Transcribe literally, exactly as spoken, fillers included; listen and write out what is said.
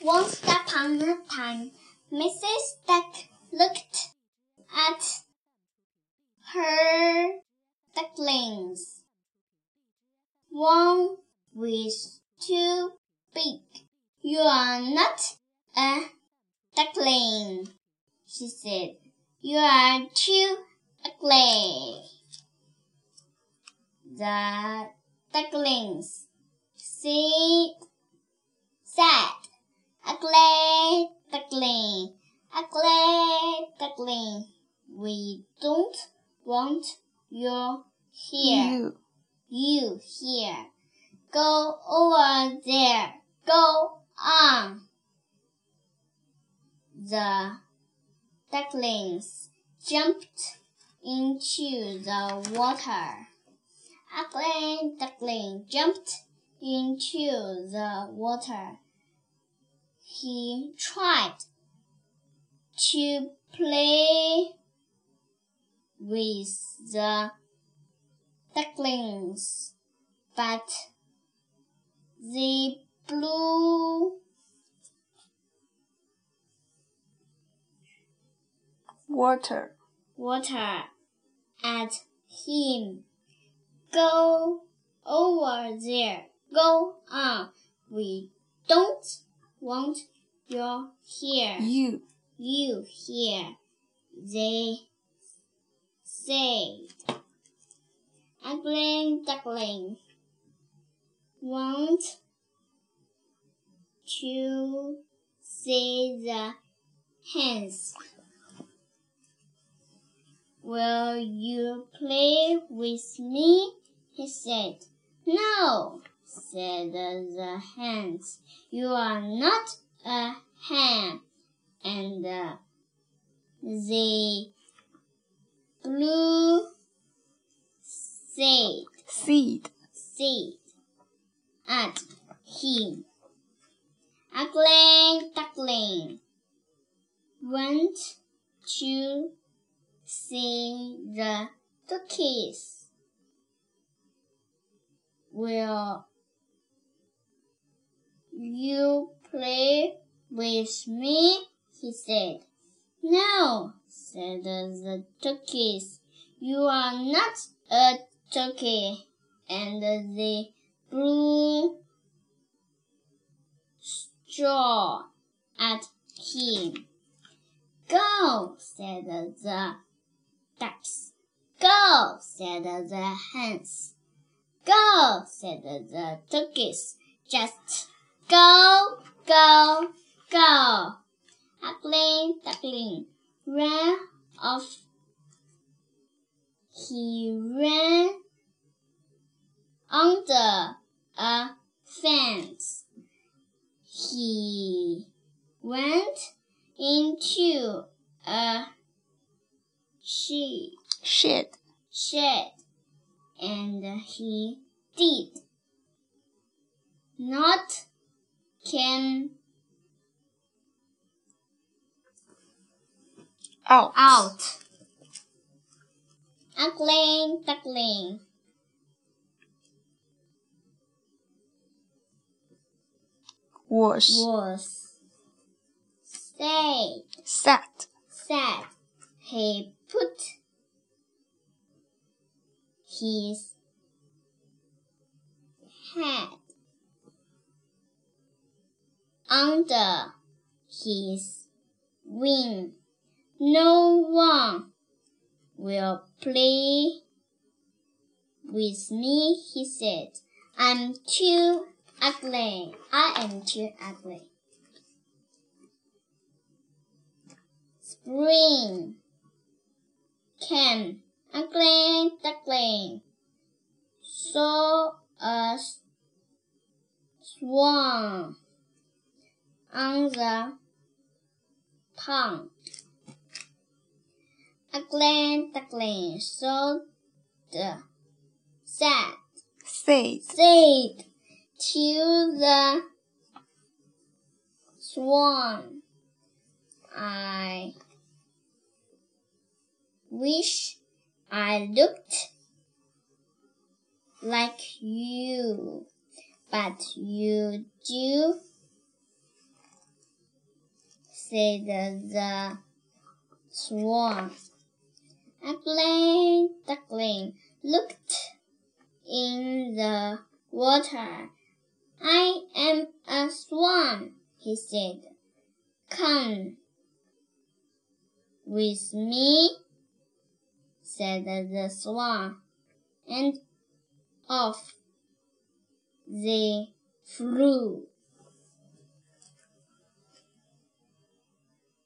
Once upon a time, Missus Duck looked at her ducklings. One was too big. You are not a duckling, she said. You are too ugly. The ducklings said, said, Ugly duckling, ugly duckling, we don't want you here. You. You here. Go over there. Go on. The ducklings jumped into the water. Ugly duckling jumped into the water. He tried to play with the ducklings, but they blew Water. water at him. Go over there. Go on. We don't want you here. You. You here. They said. Ugly duckling want to see the hens. Will you play with me? He said. No, said the hens. You are not a hen. And uh, they blew seed, Seed. seed at him. Ugly duckling went to see the duckies. Will you play with me? He said. No, said the duckies. You are not a turkey. And they blew straw at him. Go, said the ducks. Go, said the hens. Go, said the turkeys. Just go, go, go. Ugly duckling ran off. He ran under a fence. He went into a shed. Shed. Shed, and he did not come Out. out. Ugly duckling Was. was sad. Sat. Sad. He put his head under his wing. No one will play with me, he said. I'm too ugly. I am too ugly. Spring came. Ugly duckling saw a swan on the pond. Ugly duckling saw the sad Said. said to the swan, I wish I looked like you, but you do said the swan. A black duckling looked in the water. I am a swan, he said. Come with me, said the swan, and off they flew.